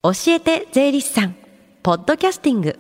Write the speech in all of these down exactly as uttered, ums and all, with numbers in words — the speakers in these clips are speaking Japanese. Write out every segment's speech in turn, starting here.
教えて税理士さんポッドキャスティング。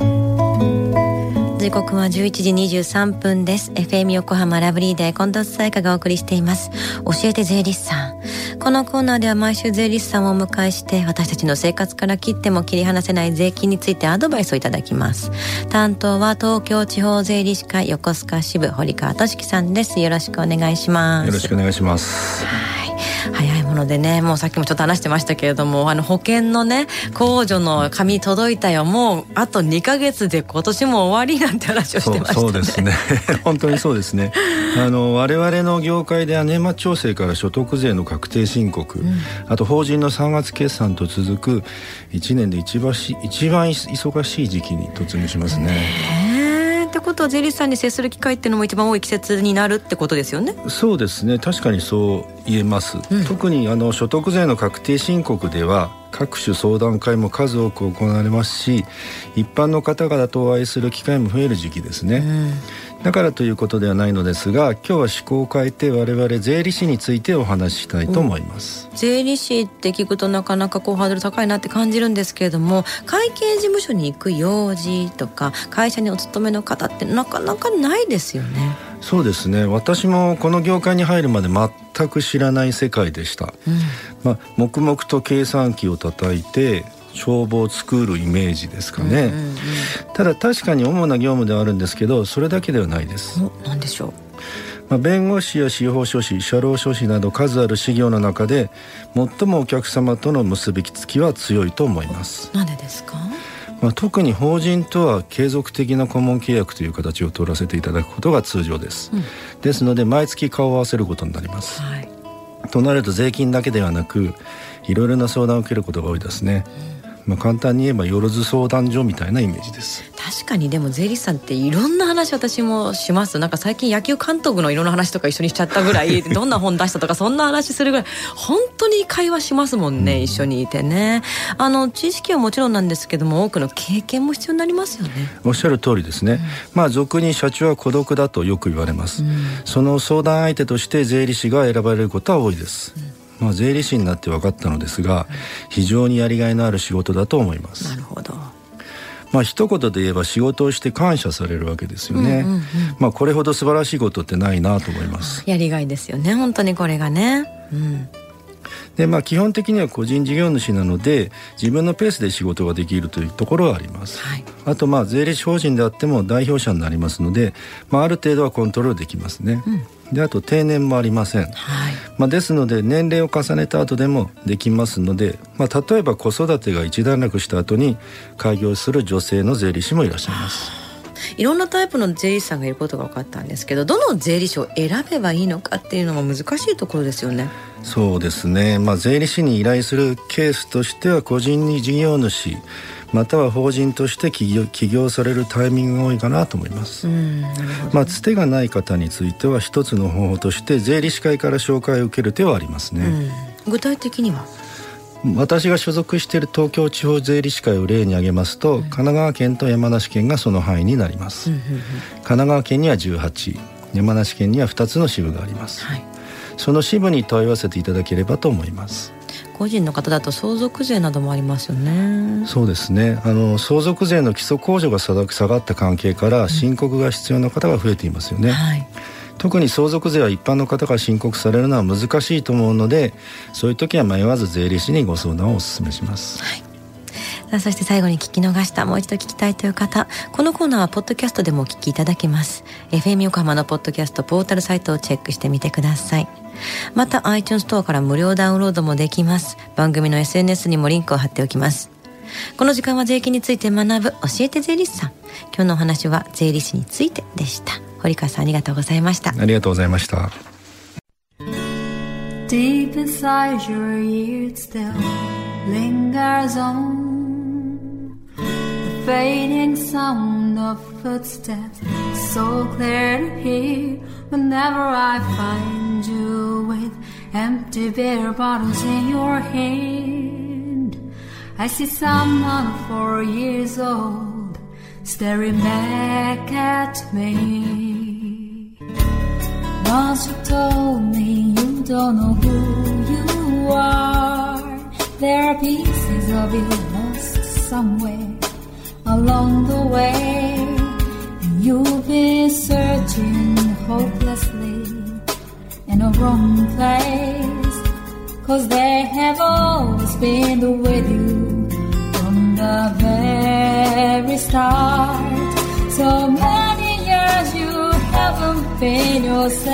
時刻はじゅういちじにじゅうさんぷんです。 エフエム 横浜ラブリーで近藤紗友香がお送りしています。教えて税理士さん。このコーナーでは毎週税理士さんをお迎えして私たちの生活から切っても切り離せない税金についてアドバイスをいただきます。担当は東京地方税理士会横須賀支部堀川俊樹さんです。よろしくお願いします。 よろしくお願いします。 はい、早いものでね、もうさっきもちょっと話してましたけれども、あの保険のね控除の紙届いたよ、もうあとにかげつで今年も終わりなんて話をしてましたね。 そう、そうですね本当にそうですねあの我々の業界では年末調整から所得税の確定申告、うん、あと法人のさんがつ決算と続くいちねんで一番し一番忙しい時期に突入しますね。 ねってことは税理士さんに接する機会っていうのも一番多い季節になるってことですよね。 そうですね、確かにそう言えます、うん、特にあの所得税の確定申告では各種相談会も数多く行われますし、一般の方々とお会いする機会も増える時期ですね、うん、だからということではないのですが、今日は趣向を変えて我々税理士についてお話ししたいと思います、 うん、税理士って聞くとなかなかこうハードル高いなって感じるんですけれども、会計事務所に行く用事とか会社にお勤めの方ってなかなかないですよね。 そうですね、私もこの業界に入るまで全く知らない世界でした、うんまあ、黙々と計算機を叩いて帳簿を作るイメージですかね、うんうんうん、ただ確かに主な業務ではあるんですけど、それだけではないです。 何でしょう。 まあ、弁護士や司法書士、社労書士など数ある事業の中で最もお客様との結びつきは強いと思います。 なんでですか。 まあ、特に法人とは継続的な顧問契約という形を取らせていただくことが通常です、うん、ですので毎月顔を合わせることになります、はい、となると税金だけではなくいろいろな相談を受けることが多いですね、うんまあ、簡単に言えばよろず相談所みたいなイメージです。 確かにでも税理士さんっていろんな話私もします。なんか最近野球監督のいろんな話とか一緒にしちゃったぐらいどんな本出したとかそんな話するぐらい本当に会話しますもんね、うん、一緒にいてね。あの知識はもちろんなんですけども多くの経験も必要になりますよね。 おっしゃる通りですね、うんまあ、俗に社長は孤独だとよく言われます、うん、その相談相手として税理士が選ばれることは多いです、うんまあ、税理士になって分かったのですが、うん、非常にやりがいのある仕事だと思います。 なるほど。 まあ一言で言えば仕事をして感謝されるわけですよね、うんうんうんまあ、これほど素晴らしいことってないなと思います。 やりがいですよね本当にこれがね、うんでまあ、基本的には個人事業主なので自分のペースで仕事ができるというところはあります、はい、あとまあ税理士法人であっても代表者になりますので、まあ、ある程度はコントロールできますね、うんであと定年もありません、はいまあ、ですので年齢を重ねた後でもできますので、まあ、例えば子育てが一段落した後に開業する女性の税理士もいらっしゃいます。 いろんなタイプの税理士さんがいることが分かったんですけど、どの税理士を選べばいいのかっていうのが難しいところですよね。 そうですね、まあ、税理士に依頼するケースとしては個人事業主または法人として起業、起業されるタイミングが多いかなと思います。うんなるほどね。まあ、つてがない方については一つの方法として税理士会から紹介を受ける手はありますね、 うん、具体的には私が所属している東京地方税理士会を例に挙げますと、うん、神奈川県と山梨県がその範囲になります、うんうんうん、神奈川県にはじゅうはち、山梨県にはふたつの支部があります、はい、その支部に問い合わせていただければと思います。 個人の方だと相続税などもありますよね。 そうですね、あの相続税の基礎控除が下がった関係から申告が必要な方が増えていますよね、うんはい、特に相続税は一般の方が申告されるのは難しいと思うので、そういう時は迷わず税理士にご相談をお勧めします、はい。 さあそして最後に聞き逃したもう一度聞きたいという方、このコーナーはポッドキャストでもお聞きいただけます。 エフエム 横浜のポッドキャストポータルサイトをチェックしてみてください。また iTunes ストアから無料ダウンロードもできます。番組の エスエヌエス にもリンクを貼っておきます。この時間は税金について学ぶ教えて税理士さん。今日のお話は税理士についてでした。堀川さんありがとうございました。 ありがとうございました。 Deep inside your ears still lingers on the fading sound of footsteps, so clear to hear whenever I find you with empty beer bottles in your hand. I see someone four years old staring back at me. Once you told me you don't know who you are, there are pieces of you lost somewhere along the way, and you've been searching hopelessly in a wrong place, 'cause they have always been with you from the very start. So many years you haven't been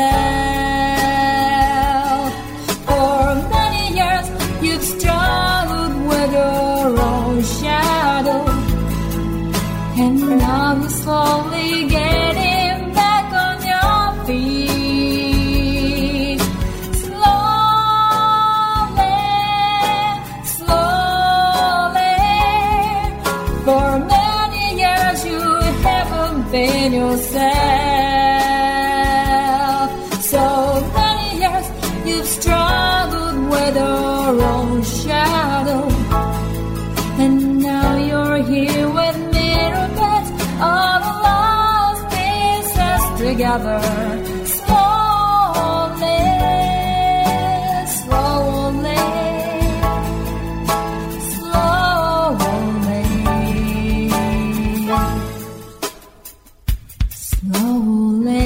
yourself. For many years you've struggled with your own shadow, and now you're slowly getting back on your feet. Slowly, slowly. For many years you haven't been yourself. So many years you've struggled with your own shadow, and now you're here with me, all the lost pieces together. Slowly, slowly, slowly, slowly.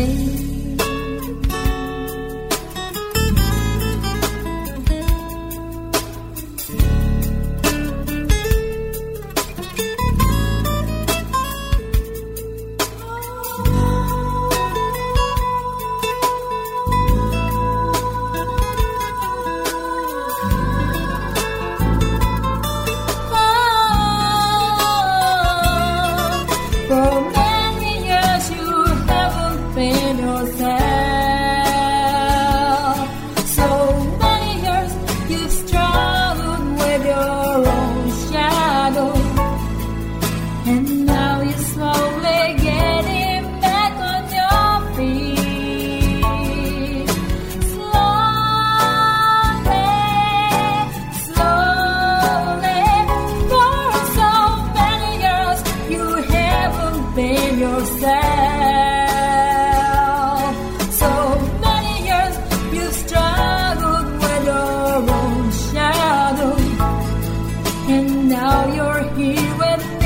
And now you're here with me.